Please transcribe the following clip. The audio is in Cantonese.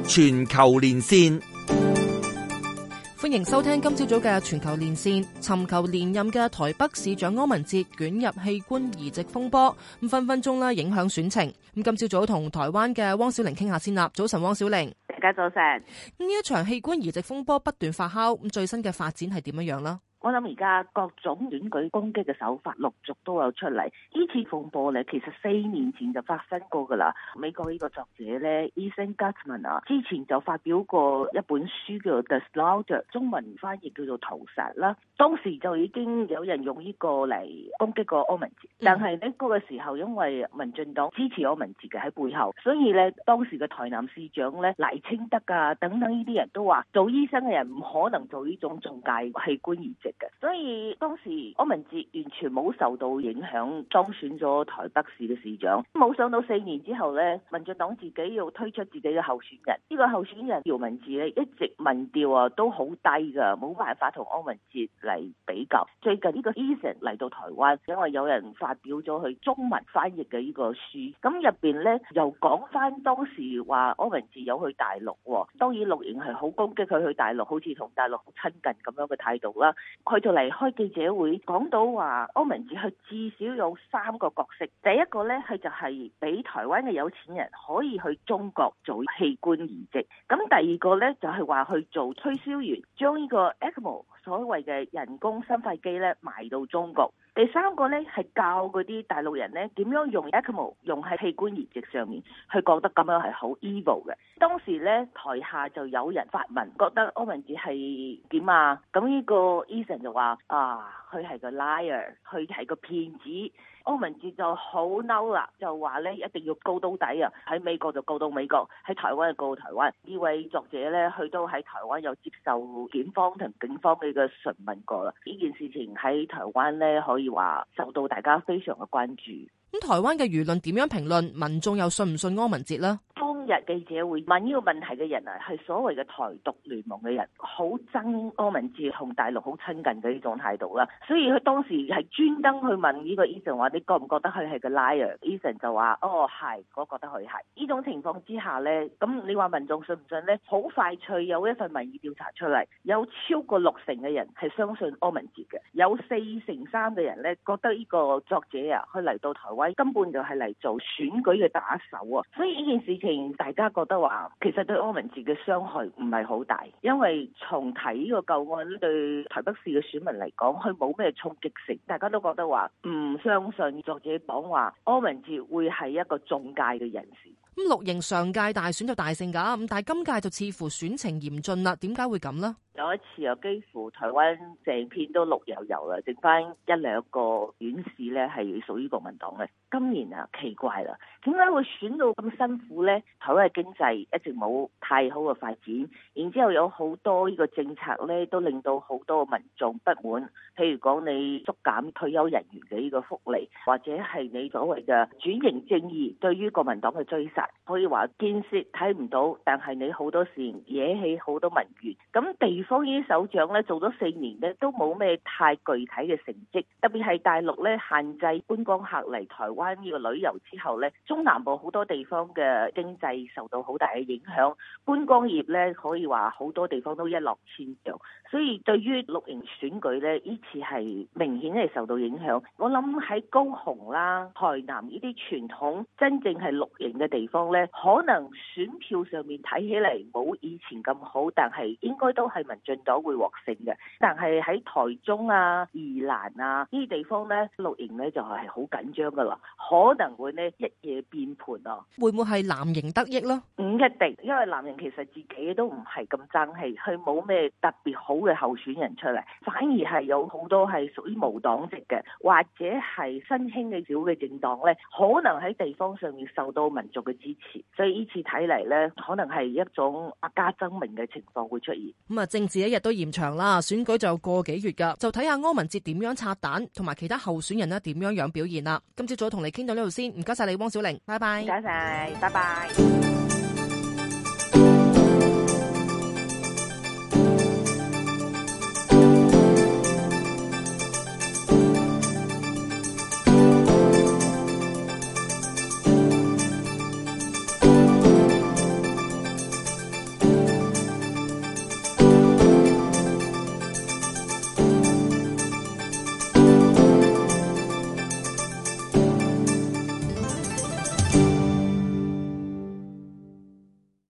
全球連線， 歡迎收聽今朝早嘅全球連線。尋求連任嘅台北市長柯文哲捲入器官移植風波，分分鐘影響選情。今朝早同台灣嘅汪小玲傾下先啦。早晨，汪小玲。 大家早晨。 呢一場器官移植風波不斷發酵，最新嘅發展係點樣啦？ 我諗而家各種選舉攻擊嘅手法陸續都有出嚟。呢次風波咧，其實4年前就發生過噶啦。美國呢個作者咧 Ethan Gutmann 啊，之前就發表過一本書叫做 The Slaughter， 中文翻譯叫做屠殺啦。當時就已經有人用呢個嚟攻擊過柯文哲，但係呢嗰個時候因為民進黨支持柯文哲嘅喺背後，所以咧當時嘅台南市長咧賴清德啊等等呢啲人都話，做醫生嘅人唔可能做呢種中介器官移植。所以當時柯文哲完全冇受到影響，當選咗台北市嘅市長。冇想到4年之後呢，民進黨自己要推出自己嘅候選人。呢個候選人姚文智呢，一直民調都好低噶，冇辦法同柯文哲嚟比較。最近呢個 Ethan 嚟到台灣，因為有人發表咗佢中文翻譯嘅呢個書，咁入邊呢，又講翻當時話柯文哲有去大陸。當然綠營係好攻擊佢去大陸，好似同大陸好親近咁樣嘅態度啦。佢就嚟開記者會，講到話柯文哲佢至少有3個角色。第一個呢，佢就係俾台灣嘅有錢人可以去中國做器官移植。咁第二個呢，就係話去做推銷員，將呢個 ECMO 所謂嘅人工心肺機呢賣到中國。第三個呢，係教嗰啲大陸人呢點樣用 ECMO 用喺器官移植上面，佢覺得咁樣係好 evil 嘅。當時呢，台下就有人發問，覺得柯文哲係點啊？咁呢個 Ethan 就話佢係個 liar， 佢係個騙子。柯文哲就好嬲啦，就話呢一定要告到底啊！喺美國就告到美國，喺台灣就告到台灣。呢位作者呢，佢都喺台灣有接受檢方同警方嘅個詢問過啦。呢件事情喺台灣呢，可以話受到大家非常嘅關注。 咁台灣嘅輿論點樣評論？民眾又信唔信柯文哲呢？ 當日記者會問呢個問題嘅人啊，係所謂嘅台獨聯盟嘅人，好憎柯文哲同大陸好親近嘅呢種態度啦。所以佢當時係專登去問呢個 Ethan 話：你覺唔覺得佢係個 liar？Ethan 就話：係，我覺得佢係。呢種情況之下呢，咁你話民眾信唔信呢？好快脆有一份民意調查出嚟，有超過60%嘅人係相信柯文哲嘅，有4成3嘅人呢覺得呢個作者啊，佢嚟到台灣根本就係嚟做選舉嘅打手啊。所以呢件事情大家覺得話，其實對柯文哲嘅傷害唔係好大，因為重睇呢個舊案對台北市嘅選民嚟講，佢冇咩衝擊性，大家都覺得話唔相信作者講話柯文哲會係一個中介嘅人士。 咁綠營上屆大選就大勝㗎，咁但係今屆就似乎選情嚴峻啦。點解會咁呢？ 有一次又幾乎台灣成片都綠油油啦，剩翻1-2個縣市咧係屬於國民黨嘅。今年啊奇怪啦，點解會選到咁辛苦呢？台灣嘅經濟一直冇太好嘅發展，然之後有好多呢個政策咧都令到好多民眾不滿。譬如講你縮減退休人員嘅呢個福利，或者係你所謂嘅轉型正義對於國民黨嘅追殺，可以話建設睇唔到，但係你好多事惹起好多民怨。咁地方呢啲首長咧做咗4年咧都冇咩太具體嘅成績，特別係大陸咧限制觀光客嚟台灣呢個旅遊之後咧，中南部好多地方嘅經濟受到好大嘅影響，觀光業咧可以話好多地方都一落千丈，所以對於綠營選舉咧呢次係明顯係受到影響。我諗喺高雄啦、台南呢啲傳統真正係綠營嘅地方咧，可能選票上面睇起嚟冇以前咁好，但係應該都係民進黨會獲勝嘅。但係喺台中啊、宜蘭啊呢啲地方咧，綠營咧就係好緊張噶啦，可能會呢一夜變盤啊。 會唔會係藍營得益呢？ 唔一定，因為藍營其實自己都唔係咁爭氣，佢冇咩特別好嘅候選人出嚟，反而係有好多係屬於無黨籍嘅，或者係新興嘅小嘅政黨咧，可能喺地方上面受到民族嘅支持，所以呢次睇嚟咧，可能係一種百家爭鳴嘅情況會出現。 咁啊，政治一日都延長啦，選舉就個幾月噶，就睇下柯文哲點樣拆彈，同埋其他候選人咧點樣表現啦。今朝早同你傾到呢度先，唔該晒你汪小玲，拜拜。 唔該晒，拜拜。